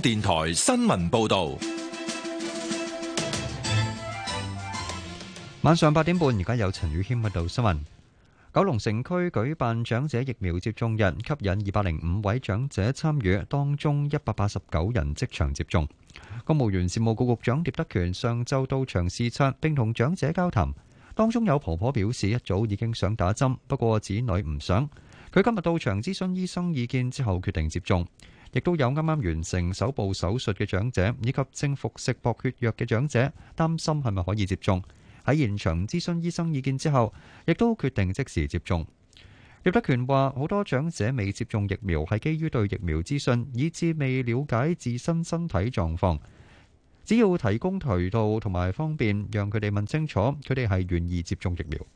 電台新聞報道。 晚上8點半，而家有陳宇謙報道新聞。九龍城區舉辦長者疫苗接種日，吸引205位長者參與，當中189人即場接種。公務員事務局局長聶德權上晝到場視察並同長者交談，當中有婆婆表示一早已經想打針，不過子女唔想。佢今日到場諮詢醫生意見之後決定接種。亦都有啱啱完成手部手術嘅長者，以及正服食薄血藥嘅長者，擔心係咪可以接種。喺現場諮詢醫生意見之後，亦都決定即時接種。聶德權話：好多長者未接種疫苗係基於對疫苗資訊，以致未了解自身身體狀況。只要提供渠道同埋方便，讓佢哋問清楚，佢哋係願意接種疫苗。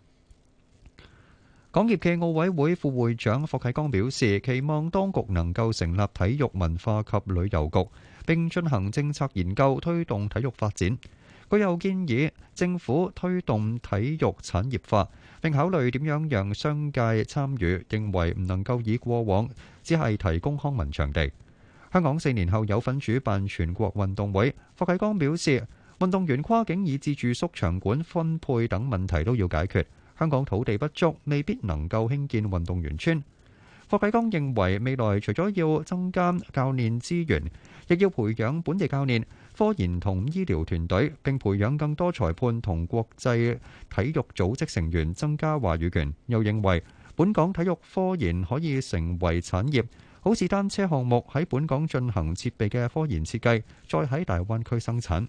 港協暨奧委會副會長霍啟剛表示，期望當局能夠成立體育文化及旅遊局，並進行政策研究，推動體育發展。佢又建議政府推動體育產業化，並考慮點樣讓商界參與，認為唔能夠以過往只係提供康文場地。香港4年後有份主辦全國運動會，霍啟剛表示，運動員跨境以至住宿場館分配等問題都要解決。香港土地不足，未必能夠興建運動員村。霍啟剛認為未來除咗要增加教練資源，亦要培養本地教練、科研同醫療團隊，並培養更多裁判同國際體育組織成員，增加話語權。又認為本港體育科研可以成為產業，好似單車項目喺本港進行設備嘅科研設計，再喺大灣區生產。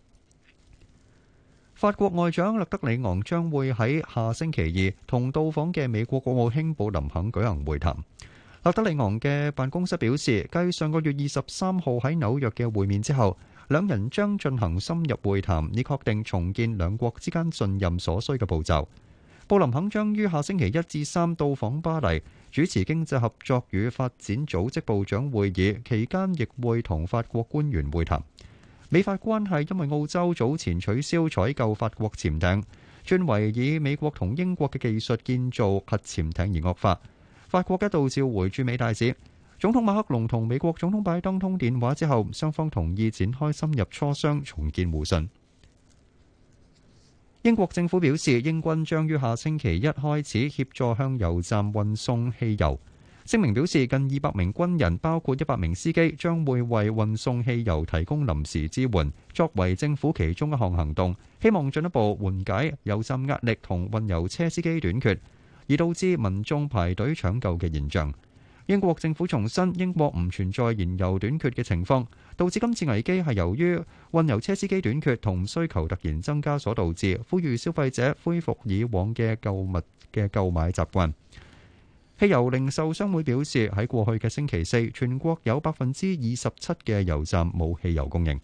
法國外長勒德里昂將會喺下星期二同到訪嘅美國國務卿布林肯舉行會談。勒德里昂嘅辦公室表示，繼上個月23號喺紐約嘅會面之後，兩人將進行深入會談，以確定重建兩國之間信任所需嘅步驟。布林肯將於下星期1至3到訪巴黎，主持經濟合作與發展組織部長會議，期間亦會同法國官員會談。美法關係因為澳洲早前取消採購法國潛艇，轉為以美國同英國嘅技術建造核潛艇而惡化。法國一度召回駐美大使。總統馬克龍同美國總統拜登通電話之後，雙方同意展開深入磋商，重建互信。英國政府表示，英軍將於下星期1開始協助向油站運送汽油。聲明表示，近200名軍人，包括100名司機，將會為運送汽油提供臨時支援，作為政府其中一項行動，希望進一步緩解油站壓力同運油車司機短缺，而導致民眾排隊搶救嘅現象。英國政府重申，英國唔存在燃油短缺嘅情況，導致今次危機係由於運油車司機短缺同需求突然增加所導致，呼籲消費者恢復以往嘅購買習慣。汽油零售商會表示，喺過去嘅星期四，全國有27%嘅油站冇汽油供應。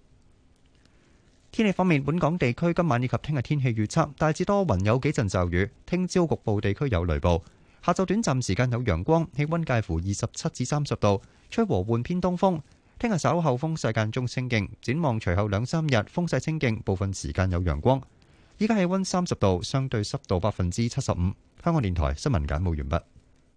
天氣方面，本港地區今晚以及聽日天氣預測大致多雲，有幾陣驟雨，聽朝局部地區有雷暴，下晝短暫時間有陽光，氣溫介乎27至30度，吹和緩偏東風。聽日稍後風勢間中清勁，展望隨後2-3日風勢清勁，部分時間有陽光。依家氣溫30度，相對濕度75%。香港電台新聞簡報完畢。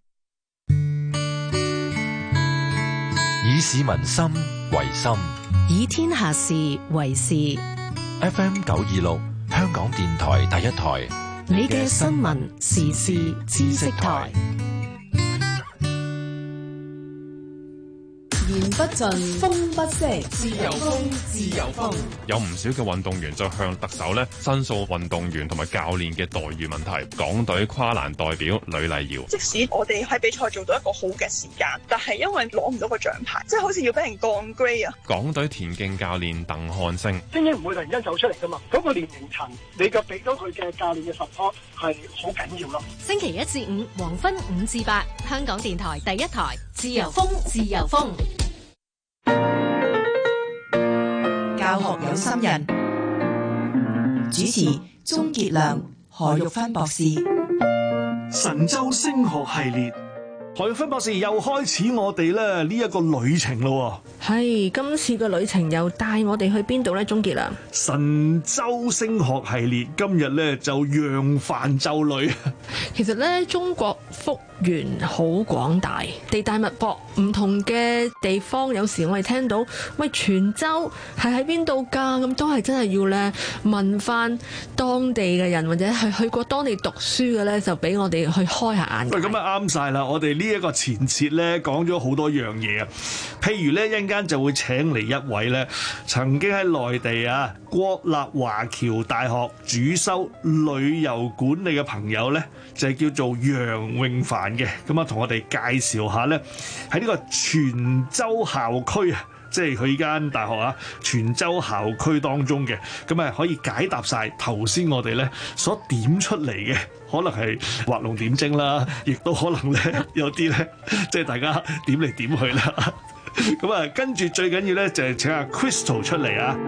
以市民心為心， 以天下事為事。 FM 926，香港電台第一台， 你嘅新聞時事知識台。言不盡，風不息，自由風，自由風。 有唔少嘅運動員就向特首申訴運動員同埋教練嘅待遇問題。港隊跨欄代表呂麗瑤， 即使我哋喺比賽做到一個好嘅時間，但係因為攞唔到個獎牌，即係好似要俾人降 grade 啊！ 港隊田徑教練鄧漢星， 精英唔會突然間走出嚟噶嘛，嗰個年齡層你嘅俾到佢嘅教練嘅 support 係好緊要咯。 星期1至5黃昏5至8，香港電台第一台，自由風，自由風。 教學有心人，主持鍾傑良、何玉芬博士。 神州升學系列，何玉芬博士又開始我哋咧呢一個旅程咯。 係，今次嘅旅程又帶我哋去邊度呢？鍾傑良， 神州升學系列今日咧就揚帆就旅。 其實咧，中國福源好廣大，地大物博，唔同嘅地方，有時我哋聽到喂泉州係喺邊度㗎？咁都係真係要咧問翻當地嘅人，或者係去過當地讀書嘅咧，就俾我哋去開下眼界。 喂，咁啊啱晒啦！我哋呢一個前設咧講咗好多樣嘢啊，譬如咧一陣間就會請嚟一位咧曾經喺內地啊國立華僑大學主修旅遊管理嘅朋友咧，就係叫做楊永凡嘅，咁啊同我哋介紹下咧喺呢個泉州校區啊，即係佢間大學啊，泉州校區當中嘅，咁啊可以解答晒頭先我哋咧所點出嚟嘅，可能係畫龍點睛啦，亦都可能咧有啲咧即係大家點嚟點去啦。咁啊，跟住最緊要咧就係請阿 Crystal 出嚟啊！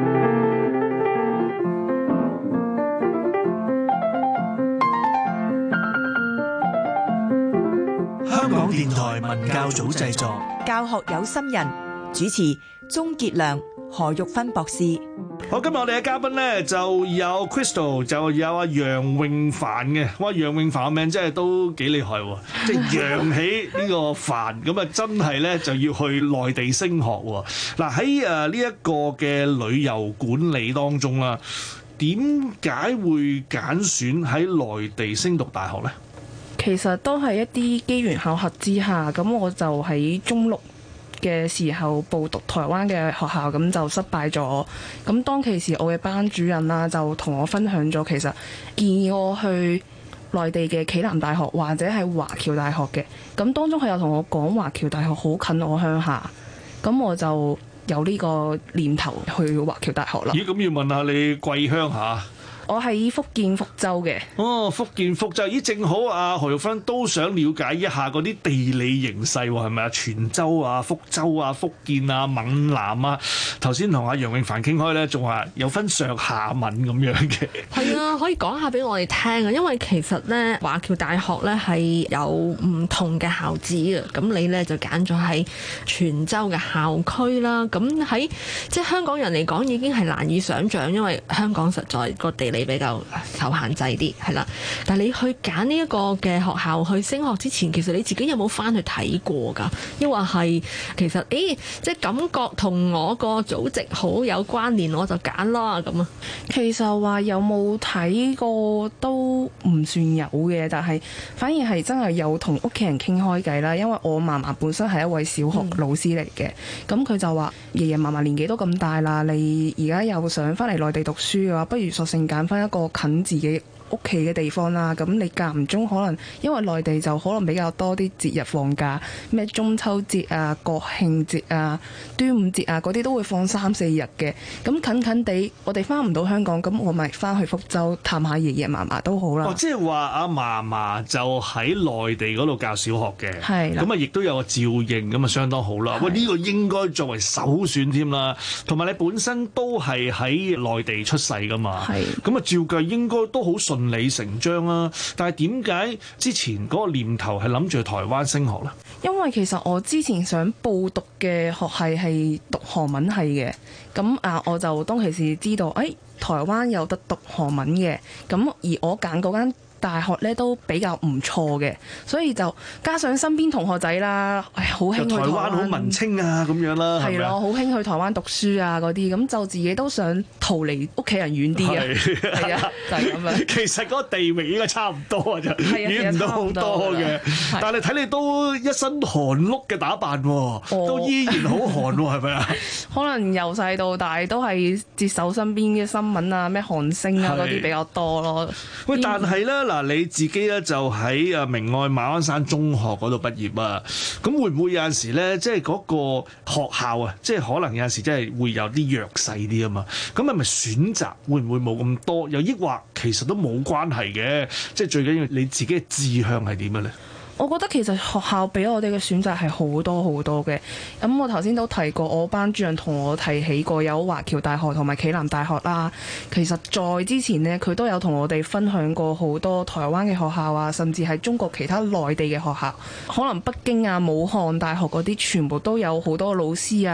香港電台文教組製作， 教學有心人，主持鍾傑良、何玉芬博士。 好，今日我哋嘅嘉賓咧就有 Crystal， 就有阿楊永凡嘅。哇，楊永凡嘅名真係都幾厲害喎，即係揚起呢個凡，咁啊真係咧就要去內地升學喎。嗱喺呢一個嘅旅遊管理當中啦，點解會揀選喺內地升讀大學咧？ 其實都係一啲機緣巧合之下，咁我就喺中六嘅時候報讀台灣嘅學校，咁就失敗咗。咁當其時我嘅班主任啦，就同我分享咗，其實建議我去內地嘅暨南大學或者係華僑大學嘅。咁當中佢又同我講華僑大學好近我鄉下，咁我就有呢個念頭去華僑大學啦。 咦，咁要問下你貴鄉下？ 我喺福建福州嘅。 哦，福建福州，咦，正好啊，何玉芬都想了解一下嗰啲地理形勢喎，係咪啊？泉州啊、福州啊、福建啊、閩南啊，頭先同阿楊永凡傾開咧，仲話有分上下文咁樣嘅。 係啊，可以講下俾我哋聽啊，因為其實咧華僑大學咧係有唔同嘅校址嘅，咁你咧就揀咗喺泉州嘅校區啦。咁喺即係香港人嚟講已經係難以想像，因為香港實在個地理比較受限制啲，係啦。但係你去揀呢一個嘅學校去升學之前，其實你自己有冇翻去睇過㗎？抑或係其實即係感覺同我個祖籍好有關聯，我就揀啦咁啊？ 其實話有冇睇過都唔算有嘅，但係反而係真係有同屋企人傾開偈啦。因為我嫲嫲本身係一位小學老師嚟嘅，咁佢就話爺爺嫲嫲年紀都咁大啦，你而家又想翻嚟內地讀書嘅話，不如索性揀翻一個近自己屋企嘅地方啦。咁你間唔中可能因為內地就可能比較多啲節日放假，咩中秋節啊、國慶節啊、端午節啊嗰啲都會放3-4日嘅。咁近近地我哋翻唔到香港，咁我咪翻去福州探下爺爺嫲嫲都好啦。 哦，即係話阿嫲嫲就喺內地嗰度教小學嘅，係咁啊，亦都有個照應，咁啊相當好啦。喂，呢個應該作為首選添啦。同埋你本身都係喺內地出世噶嘛，係咁啊，照計應該都好順理成章啦。但係點解之前嗰個念頭係諗住去台灣升學呢？ 因為其實我之前想報讀嘅學系係讀韓文系嘅，咁我就當其時知道，台灣有得讀韓文嘅，咁而我揀嗰間大學咧都比較唔錯嘅，所以就加上身邊同學仔啦，好興去台灣好文青啊咁樣啦， 係咯，好興去台灣讀書啊嗰啲，咁就自己都想逃離屋企人遠啲啊，係啊，就係咁樣。 其實嗰個地域應該差唔多啊，就遠唔到好多嘅。但係睇你都一身韓碌嘅打扮喎，都依然好韓喎，係咪啊？ 可能由細到大都係接手身邊嘅新聞啊，咩韓星啊嗰啲比較多咯。 喂，但係咧嗱，你自己咧就喺明愛馬鞍山中學嗰度畢業啊，咁會唔會有陣時咧，即係嗰個學校啊，即係可能有陣時真係會有啲弱勢啲啊嘛，咁係咪選擇會唔會冇咁多？又抑或其實都冇關係嘅，即係最緊要你自己嘅志向係點嘅咧？ 我覺得其實學校俾我哋嘅選擇係好多好多嘅。咁我頭先都提過，我班主任同我提起過有華僑大學同埋暨南大學啦。其實在之前呢，佢都有同我哋分享過好多台灣嘅學校啊，甚至係中國其他內地嘅學校，可能北京啊、武漢大學嗰啲全部都有好多老師啊，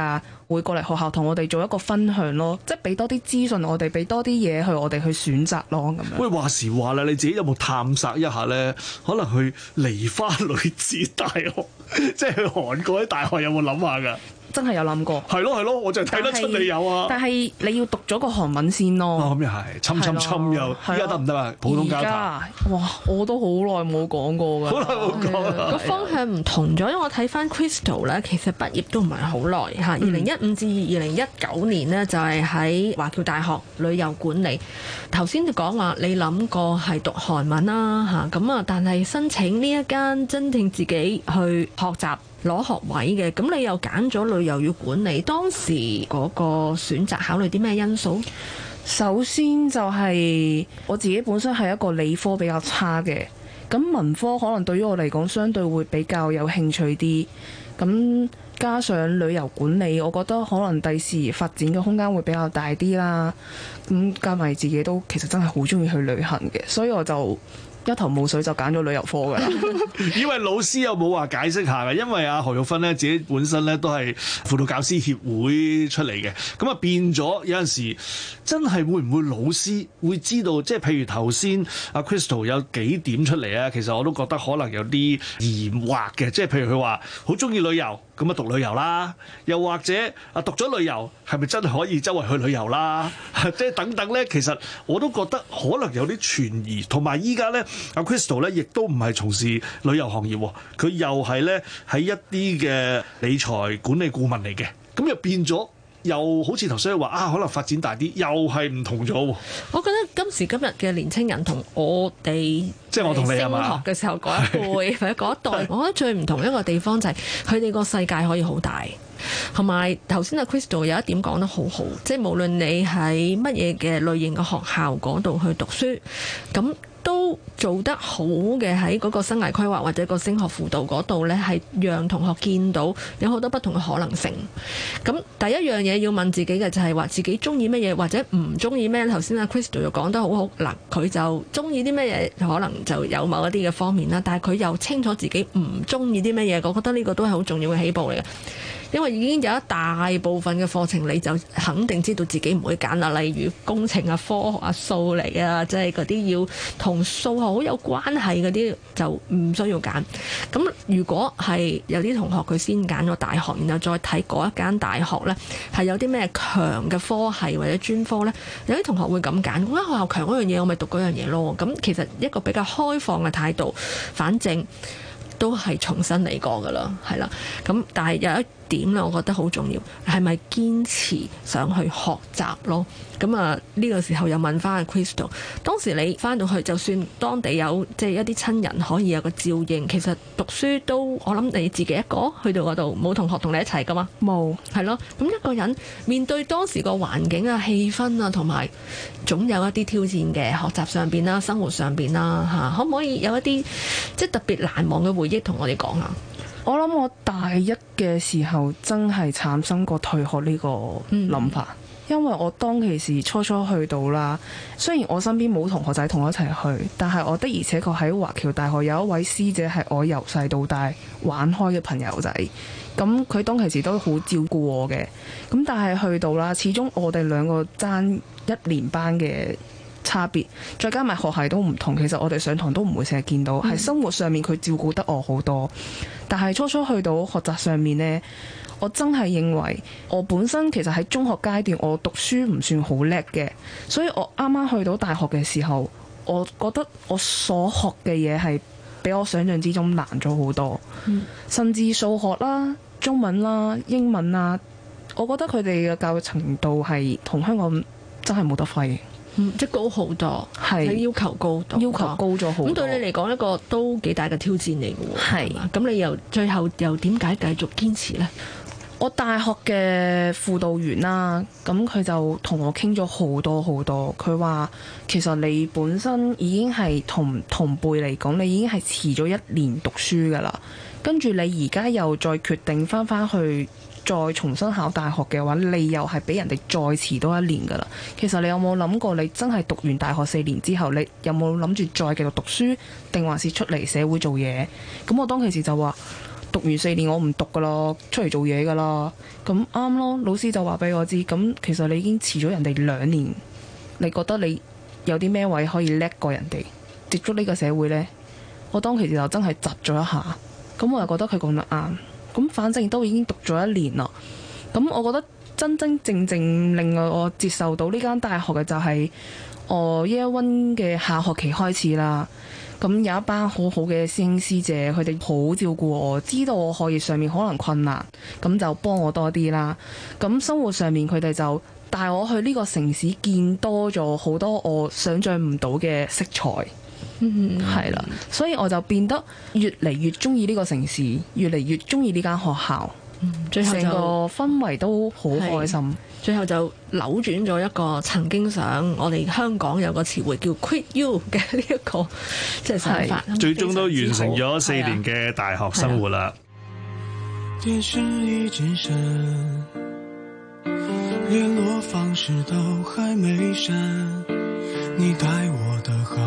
會過嚟學校同我哋做一個分享咯，即係俾多啲資訊我哋，俾多啲嘢去我哋去選擇咯咁樣。 喂，話時話啦，你自己有冇探索一下咧？可能去梨花女子大學，即係去韓國啲大學有冇諗下㗎？ 真係有諗過。 係咯，我就睇得出你有啊。 但係你要讀咗個韓文先咯。 哦，咁又係，侵又，依家得唔得啊？普通交談。 哇，我都好耐冇講過㗎。 好耐冇講啦。 個方向唔同咗，因為我睇翻 Crystal 咧，其實畢業都唔係好耐嚇。2015至2019年呢，就係喺華僑大學旅遊管理。頭先就講話你諗過係讀韓文啦嚇，咁啊，但係申請呢一間真正自己去學習攞學位嘅，咁你又揀咗旅遊與管理，當時嗰個選擇考慮啲咩因素？ 首先就係我自己本身係一個理科比較差嘅，咁文科可能對於我嚟講相對會比較有興趣啲，咁加上旅遊管理，我覺得可能第時發展嘅空間會比較大啲啦，咁加埋自己都其實真係好中意去旅行嘅，所以我就一頭霧水就揀咗旅遊科㗎啦。 以為老師有冇話解釋下嘅？因為阿何玉芬咧自己本身咧都係輔導教師協會出嚟嘅，咁啊變咗有陣時真係會唔會老師會知道？即係譬如頭先阿 Crystal 有幾點出嚟啊，其實我都覺得可能有啲疑惑嘅。即係譬如佢話好中意旅遊，咁啊讀旅遊啦，又或者啊讀咗旅遊係咪真係可以周圍去旅遊啦？即係等等咧，其實我都覺得可能有啲存疑。同埋依家咧，阿 Crystal 咧亦都唔係從事旅遊行業，佢又係咧喺一啲嘅理財管理顧問嚟嘅，咁又變咗。又好似頭先話啊，可能發展大啲，又係唔同咗喎。 我覺得今時今日嘅年青人同我哋即係我同你係嘛？ 升學嘅時候嗰一輩或者嗰一代，我覺得最唔同一個地方就係佢哋個世界可以好大，同埋頭先阿 Crystal 有一點講得好好，即係無論你喺乜嘢嘅類型嘅學校嗰度去讀書，咁都做得好嘅喺嗰個生涯規劃或者個升學輔導嗰度呢，係讓同學見到有好多不同嘅可能性。咁第一樣嘢要問自己嘅就係話自己中意乜嘢或者唔中意咩？頭先阿 Crystal 又講得好好，嗱佢就中意啲乜嘢，可能就有某一啲嘅方面啦。但係佢又清楚自己唔中意啲乜嘢，我覺得呢個都係好重要嘅起步嚟嘅。因為已經有一大部分嘅課程，你就肯定知道自己唔會揀啦。例如工程啊、科學啊、數理啊，即係嗰啲要同數學好有關係嗰啲，就唔需要揀。咁如果係有啲同學佢先揀咗大學，然後再睇嗰一間大學呢，係有啲咩強嘅科系或者專科呢？有啲同學會咁揀，嗰間學校強嗰樣嘢，我咪讀嗰樣嘢咯。咁其實一個比較開放嘅態度，反正都係重新嚟過噶啦，係啦。咁但係有一點咧，我覺得好重要，係咪堅持想去學習咯？咁啊，呢個時候又問翻阿 Crystal， 當時你翻到去，就算當地有即係一啲親人可以有個照應，其實讀書都我諗你自己一個去到嗰度，冇同學同你一齊噶嘛？冇，係咯。咁一個人面對當時個環境啊、氣氛啊，同埋總有一啲挑戰嘅學習上邊啦、生活上邊啦嚇，可唔可以有一啲即係特別難忘嘅回憶同我哋講下？ 我諗我大一嘅時候真係產生過退學呢個諗法，因為我當其時初去到啦，雖然我身邊冇同學仔同我一齊去，但係我的而且確喺華僑大學有一位師姐係我由細到大玩開嘅朋友仔，咁佢當其時都好照顧我嘅，咁但係去到啦，始終我哋兩個爭一年班嘅差別，再加埋學系都唔同，其實我哋上堂都唔會成日見到，喺生活上面佢照顧得我好多。但係初去到學習上面呢，我真係認為我本身其實喺中學階段我讀書唔算好叻嘅，所以我啱啱去到大學嘅時候，我覺得我所學嘅嘢係比我想象之中難咗好多，甚至數學啦、中文啦、英文啦，我覺得佢哋嘅教育程度係同香港真係冇得揮。 即係高好多，係要求高多， 要求高咗好多。 咁對你嚟講一個都幾大嘅挑戰嚟嘅喎。係嘛？咁你又最後又點解繼續堅持呢？ 我大學嘅輔導員啦，咁佢就同我傾咗好多好多。佢話其實你本身已經係同輩嚟講，你已經係遲咗一年讀書㗎啦。跟住你而家又再決定翻去再重新考大學嘅話，你又係比人哋再遲多一年㗎啦。其實你有冇諗過，你真係讀完大學4年之後，你有冇諗住再繼續讀書，定還是出嚟社會做嘢？咁我當其時就話， 讀完4年我唔讀噶啦，出嚟做嘢噶啦。咁啱咯，老師就話俾我知，咁其實你已經遲咗人哋2年，你覺得你有啲咩位可以叻過人哋，接觸呢個社會呢？我當其時就真係窒咗一下，咁我又覺得佢講得啱。咁反正都已經讀咗1年啦，咁我覺得真真正正令我接受到呢間大學嘅就係我 Year 1嘅下學期開始啦。咁有一班好好嘅師兄師姐，佢哋好照顧我，知道我學業上面可能困難，咁就幫我多啲啦。咁生活上面佢哋就帶我去呢個城市，見多咗好多我想像唔到嘅色彩。係啦，所以我就變得越嚟越中意呢個城市，越嚟越中意呢間學校。 最後成個氛圍都好開心。 最後就扭轉咗一個曾經想我哋香港有個詞彙叫 quit you 嘅呢一個即係想法。 最終都完成咗4年嘅大學生活啦。 電視已經閃，聯絡方式都還沒刪，你待我的好，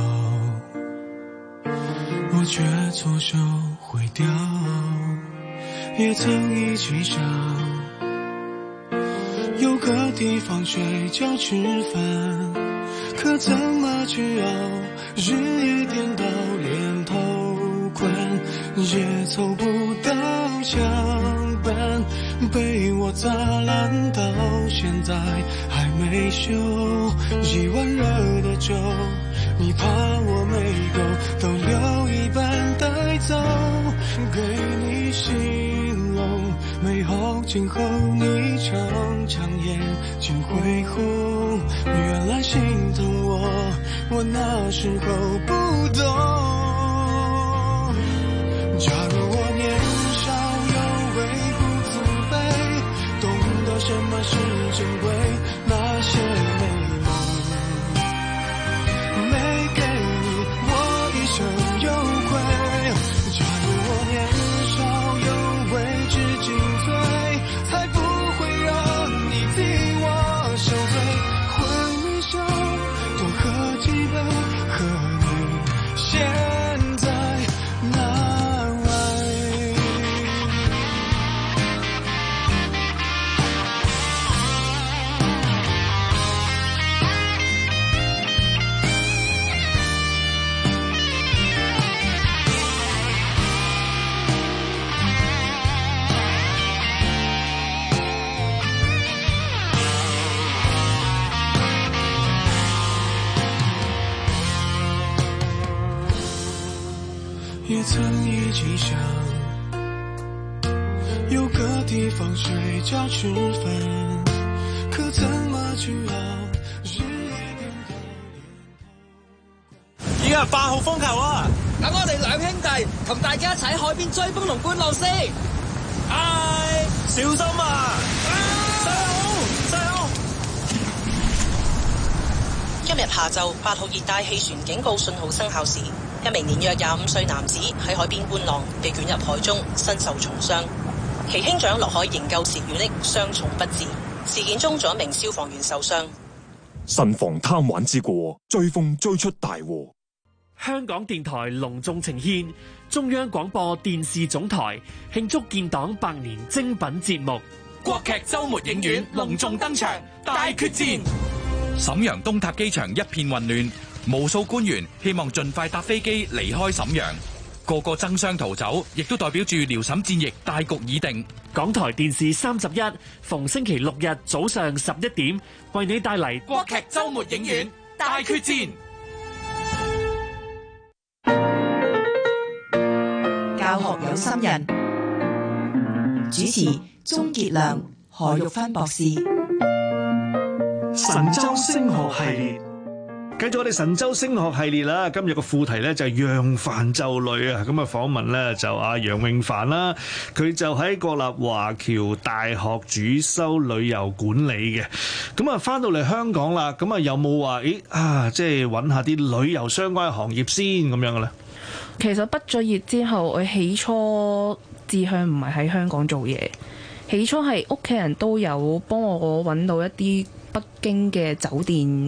我卻錯手毀掉，也曾一起想有個地方睡覺吃飯，可怎麼去熬，日夜顛倒連頭困，也湊不到牆板，被我砸爛到現在還沒修，一碗熱的粥，你怕我沒夠，都留一半帶走，給你形容美好今後，你常常眼睛會紅，原來心疼我那時候不懂，假如我年少有為不自卑，懂得什麼是珍貴，那些美夢沒給你，我一生有愧，假如我年少有為知進退，才不會讓你替我受罪，回你手多喝幾杯，和你現在難為。也曾一起想有個地方睡覺吃飯，可怎麼去熬，日夜顛倒連頭。 依家係8號風球啊！等我哋兩兄弟同大家一齊喺海邊追風同觀浪先。唉，小心啊！細佬！ 今日下晝8號熱帶氣旋警告信號生效時，一名年約25歲男子喺海邊觀浪，被捲入海中，身受重傷。其兄長落海營救時遇溺，傷重不治。事件中，仲有一名消防員受傷。 慎防貪玩之過，追風追出大禍。 香港電台隆重呈獻中央廣播電視總台慶祝建黨100年精品節目《 國劇週末影院》隆重登場，大決戰。 瀋陽東塔機場一片混亂，無數官員希望盡快搭飛機離開瀋陽，個個爭相逃走，亦都代表住遼瀋戰役大局已定。 港台電視31逢星期6日早上11點，為你帶嚟國劇週末影院大決戰。 教學有心人，主持鍾傑良、何玉芬博士。 神州升學系列，繼續我哋神州升學系列啦。今日個副題咧就係讓飯就累啊。咁啊訪問咧就阿楊永帆啦，佢就喺國立華僑大學主修旅遊管理嘅。咁啊翻到嚟香港啦，咁啊有冇話即係揾下啲旅遊相關嘅行業先咁樣嘅咧？ 其實畢咗業之後，我起初志向唔係喺香港做嘢，起初係屋企人都有幫我揾到一啲北京嘅酒店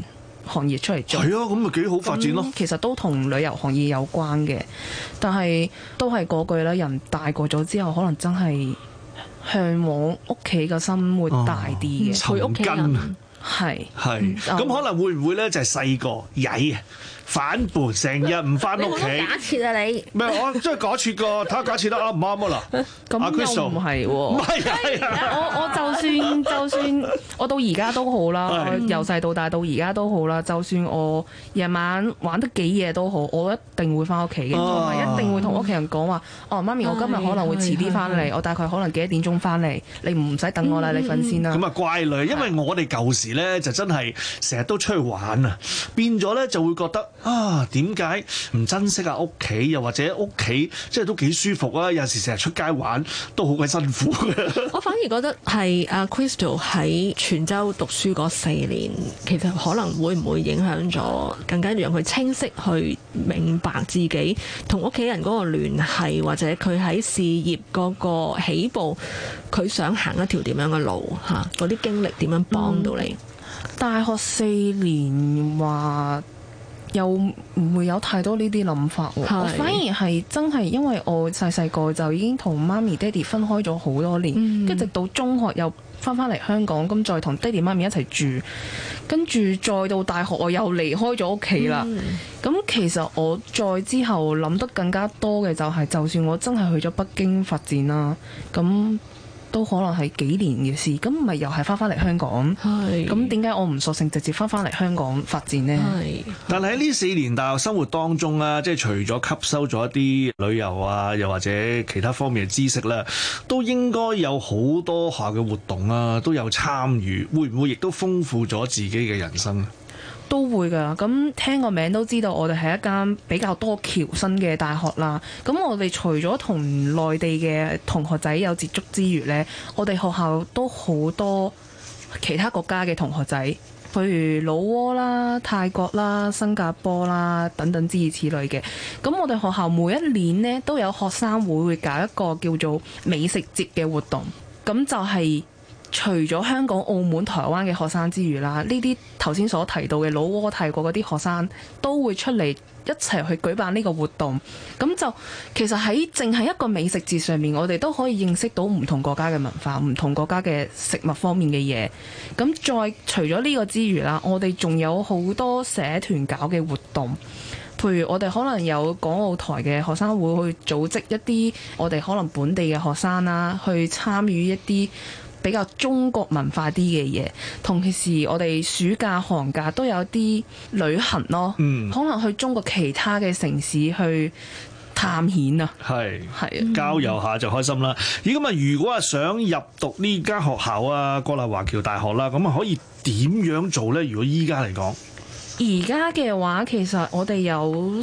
行業出嚟做。 係啊，咁咪幾好發展咯。 其實都同旅遊行業有關嘅，但係都係嗰句啦，人大個咗之後，可能真係向往屋企嘅生活大啲嘅， 陪屋企人。 係咁可能會唔會咧就係細個曳啊？反叛，成日唔翻屋企。 假設啊你， 唔係我真係假設個，睇下假設得啱唔啱啊嗱。 咁又唔係喎。 唔係我就算我到而家都好啦，我由細到大到而家都好啦。就算我夜晚玩得幾夜都好，我一定會翻屋企嘅，同埋一定會同屋企人講話：哦，媽咪，我今日可能會遲啲翻嚟，我大概可能幾多點鐘翻嚟，你唔使等我啦，你瞓先啦。 咁啊乖女，因為我哋舊時咧就真係成日都出去玩啊，變咗咧就會覺得。點解唔珍惜下屋企？又或者屋企即係都幾舒服啊！有陣時成日出街玩都好鬼辛苦嘅。 我反而覺得係阿 Crystal 喺泉州讀書嗰4年，其實可能會唔會影響咗，更加讓佢清晰去明白自己同屋企人嗰個聯繫，或者佢喺事業嗰個起步，佢想行一條點樣嘅路嚇？嗰啲經歷點樣幫到你？ 大學4年話。又唔會有太多呢啲諗法喎，我反而係真係因為我細個就已經同媽咪爹哋分開咗好多年，跟住直到中學又翻嚟香港，咁再同爹哋媽咪一齊住，跟住再到大學我又離開咗屋企啦。咁其實我再之後諗得更加多嘅就係，就算我真係去咗北京發展啦，咁都可能係幾年嘅事，咁咪又係翻嚟香港。咁點解我唔索性直接翻嚟香港發展呢？ 但係喺呢4年大學生活當中啊，即係除咗吸收咗一啲旅遊啊，又或者其他方面嘅知識咧，都應該有好多下嘅活動啊，都有參與，會唔會亦都豐富咗自己嘅人生？ 都會㗎，咁聽個名都知道我哋係一間比較多僑生嘅大學啦。咁我哋除咗同內地嘅同學仔有接觸之餘呢，我哋學校都好多其他國家嘅同學仔，譬如老撾啦、泰國啦、新加坡啦等等諸如此類嘅。咁我哋學校每一年呢都有學生會搞一個叫做美食節嘅活動，咁就係除咗香港、澳門、台灣嘅學生之餘啦，呢啲頭先所提到嘅老撾、泰國嗰啲學生都會出嚟一齊去舉辦呢個活動。咁就其實喺淨係一個美食節上面，我哋都可以認識到唔同國家嘅文化、唔同國家嘅食物方面嘅嘢。咁再除咗呢個之餘啦，我哋仲有好多社團搞嘅活動。譬如我哋可能有港澳台嘅學生會去組織一啲我哋可能本地嘅學生啦，去參與一啲比較中國文化啲嘅嘢，同時我哋暑假寒假都有啲旅行咯，可能去中國其他嘅城市去探險啊，係郊遊下就開心啦。咁啊，如果係想入讀呢間學校啊，國立華僑大學啦，咁啊可以點樣做呢？如果依家嚟講， 而家嘅話，其實我哋有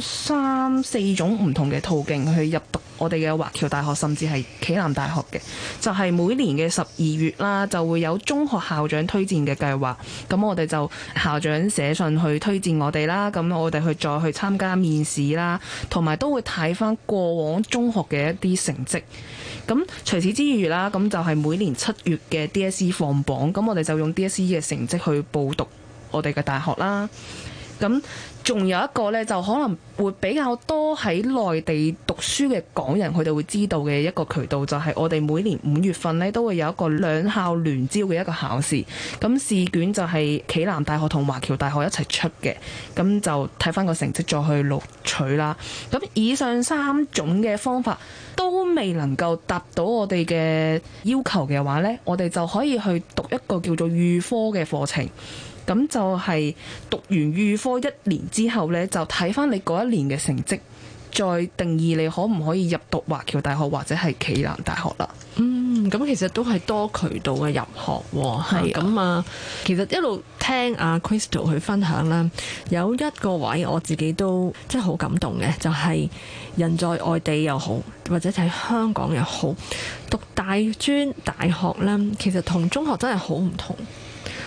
3、4種唔同嘅途徑去入讀我哋嘅華僑大學，甚至係暨南大學嘅。就係每年嘅12月啦，就會有中學校長推薦嘅計劃。咁我哋就校長寫信去推薦我哋啦，咁我哋再去參加面試啦，同埋都會睇返過往中學嘅一啲成績。咁除此之餘啦，咁就係每年7月嘅 DSE 放榜，咁我哋就用 DSE 嘅成績去報讀我哋嘅大學啦。咁仲有一個呢，就可能會比較多喺內地讀書嘅港人，佢哋會知道嘅一個渠道，就係我哋每年5月份呢都會有一個兩校聯招嘅一個考試。咁試卷就係暨南大學同華僑大學一齊出嘅，咁就睇翻個成績再去錄取啦。咁以上3種嘅方法都未能夠達到我哋嘅要求嘅話呢，我哋就可以去讀一個叫做預科嘅課程。咁就係讀完預科1年之後呢，就睇翻你嗰一年嘅成績，再定義你可唔可以入讀華僑大學或者係暨南大學啦。 咁其實都係多渠道嘅入學喎。係咁啊，其實一路聽阿 Crystal 去分享啦，有一個位我自己都真係好感動嘅，就係人在外地又好，或者喺香港又好，讀大專大學呢，其實同中學真係好唔同。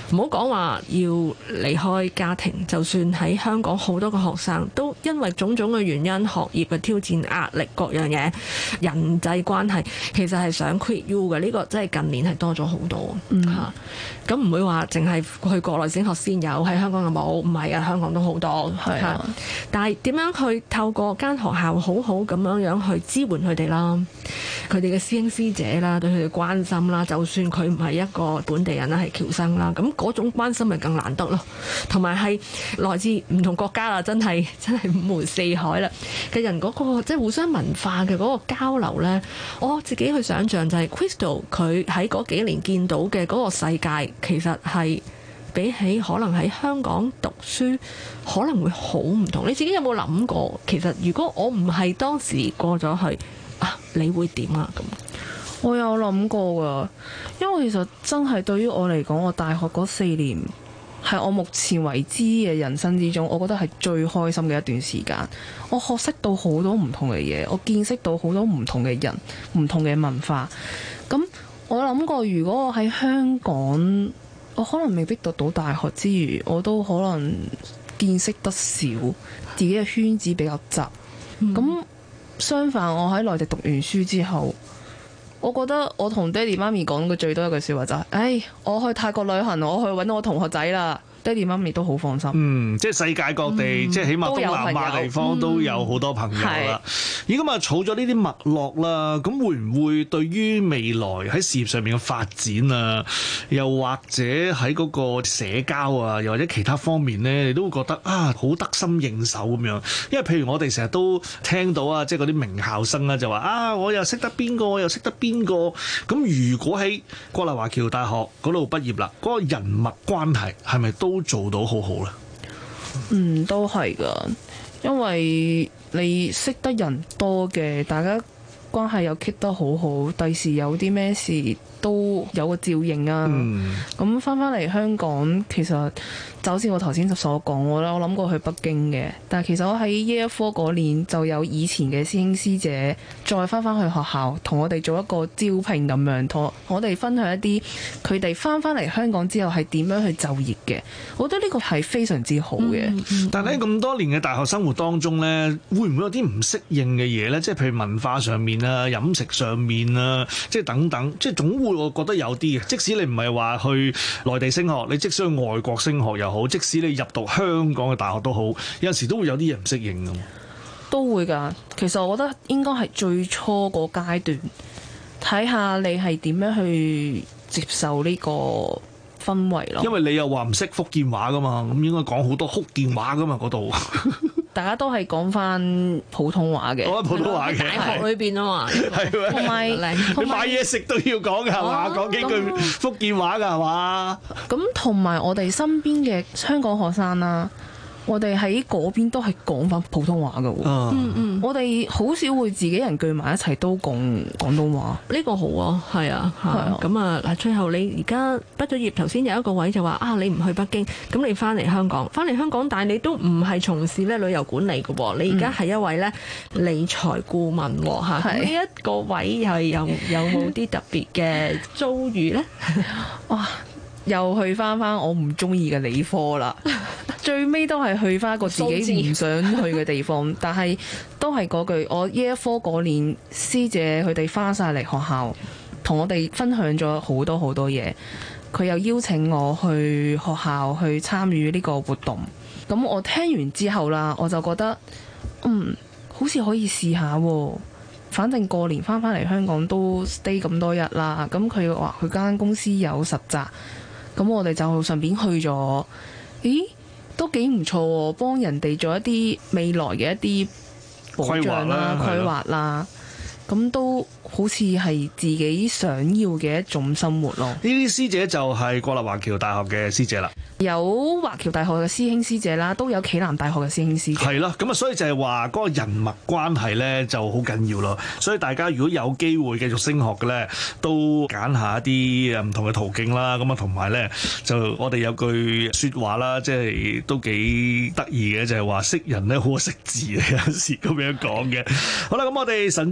唔好講話要離開家庭，就算喺香港好多個學生都因為種種嘅原因，學業嘅挑戰、壓力各樣嘢、人際關係，其實係想 quit U 嘅。呢個真係近年係多咗好多嚇。咁唔會話淨係去國內升學先有，喺香港有冇？唔係啊，香港都好多嚇。但係點樣去透過間學校好好咁樣去支援佢哋啦，佢哋嘅師兄師姐啦，對佢哋關心啦，就算佢唔係一個本地人啦，係僑生啦，咁嗰種關心咪更難得咯。同埋係來自唔同國家啦，真係五湖四海啦嘅人嗰個即係互相文化嘅嗰個交流呢，我自己去想像就係 Crystal 佢喺嗰幾年見到嘅嗰個世界，其實係比起可能喺香港讀書可能會好唔同。你自己有冇諗過？其實如果我唔係當時過咗去啊，你會點啊？咁我有諗過㗎，因為其實真係對於我嚟講，我大學嗰4年係我目前為止嘅人生之中，我覺得係最開心嘅一段時間。我學識到好多唔同嘅嘢，我見識到好多唔同嘅人、唔同嘅文化。咁我諗過，如果我喺香港，我可能未必讀到大學之餘，我都可能見識得少，自己嘅圈子比較窄。咁相反，我喺內地讀完書之後，我覺得我同爹哋媽咪講嘅最多一句説話就係：我去泰國旅行，我去揾我同學仔啦。爹哋媽咪都好放心。 即係世界各地，即係起碼東南亞地方都有好多朋友啦。而咁啊，儲咗呢啲脈絡啦，咁會唔會對於未來喺事業上面嘅發展啊，又或者喺嗰個社交啊，又或者其他方面咧，你都會覺得啊，好得心應手咁樣？因為譬如我哋成日都聽到啊，即係嗰啲名校生啊，就話啊，我又識得邊個，我又識得邊個。咁如果喺國立華僑大學嗰度畢業啦，嗰個人脈關係係咪都做到好好咧？ 都係噶，因為你識得人多嘅，大家關係又 keep 得好好，第時有啲咩事都有個照應啊。咁翻嚟香港，其實就好似我頭先所講，我諗過去北京嘅，但係其實我喺 Year 4嗰年就有以前嘅師兄師姐再翻去學校，同我哋做一個招聘咁樣，同我哋分享一啲佢哋翻嚟香港之後係點樣去就業嘅。我覺得呢個係非常之好嘅。 但係喺咁多年嘅大學生活當中呢，會唔會有啲唔適應嘅嘢呢？即係譬如文化上面啊、飲食上面啊，即係等等，即係總會我覺得有啲嘅。即使你唔係話去內地升學，你即使去外國升學又好，即使你入讀香港嘅大學都好，有陣時都會有啲嘢唔適應㗎。 都會㗎。其實我覺得應該係最初個階段，睇下你係點樣去接受呢個氛圍咯。 因為你又話唔識福建話㗎嘛，咁應該講好多福建話㗎嘛嗰度。 大家都係講翻普通話嘅， 講普通話嘅， 大學裏邊啊嘛， 係同埋你買嘢食都要講㗎係嘛？講幾句福建話㗎係嘛？ 咁同埋我哋身邊嘅香港學生啦，我哋喺嗰邊都係講翻普通話㗎喎。我哋好少會自己人聚埋一齊都講廣東話。 呢個好啊，係啊，咁啊嗱，最後你而家畢咗業，頭先有一個位就話啊，你唔去北京，咁你翻嚟香港，但係你都唔係從事咧旅遊管理嘅喎，你而家係一位咧理財顧問喎嚇。呢一個位係有冇啲特別嘅遭遇咧？ 哇！又去翻我唔中意嘅理科啦，最尾都係去翻一個自己唔想去嘅地方，但係都係嗰句，我 Year 4嗰年師姐佢哋翻晒嚟學校，同我哋分享咗好多好多嘢。佢又邀請我去學校去參與呢個活動，咁我聽完之後啦，我就覺得好似可以試下喎。反正過年翻嚟香港都 stay 咁多日啦，咁佢話佢間公司有實習。咁我哋就順便去咗，都幾唔錯喎，幫人哋做一啲未來嘅一啲保障啦、規劃啦，咁都好似係自己想要嘅一種生活咯。呢啲師姐就係國立華僑大學嘅師姐啦， 有華僑大學嘅師兄師姐啦，都有暨南大學嘅師兄師姐。 係咯，咁啊，所以就係話嗰個人脈關係咧就好緊要咯。所以大家如果有機會繼續升學嘅咧，都揀下一啲唔同嘅途徑啦。咁啊，同埋咧就我哋有句説話啦，即係都幾得意嘅，就係話識人咧好過識字，有時咁樣講嘅。好啦，咁我哋神州升學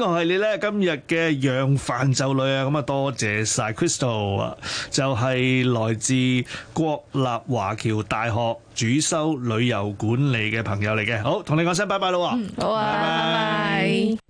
樂系列咧，今日嘅揚帆就侶啊，咁啊多謝晒 Crystal 啊，就係來自國立華僑大學主修旅遊管理嘅朋友嚟嘅。好，同你講聲拜拜咯。 好啊，拜拜。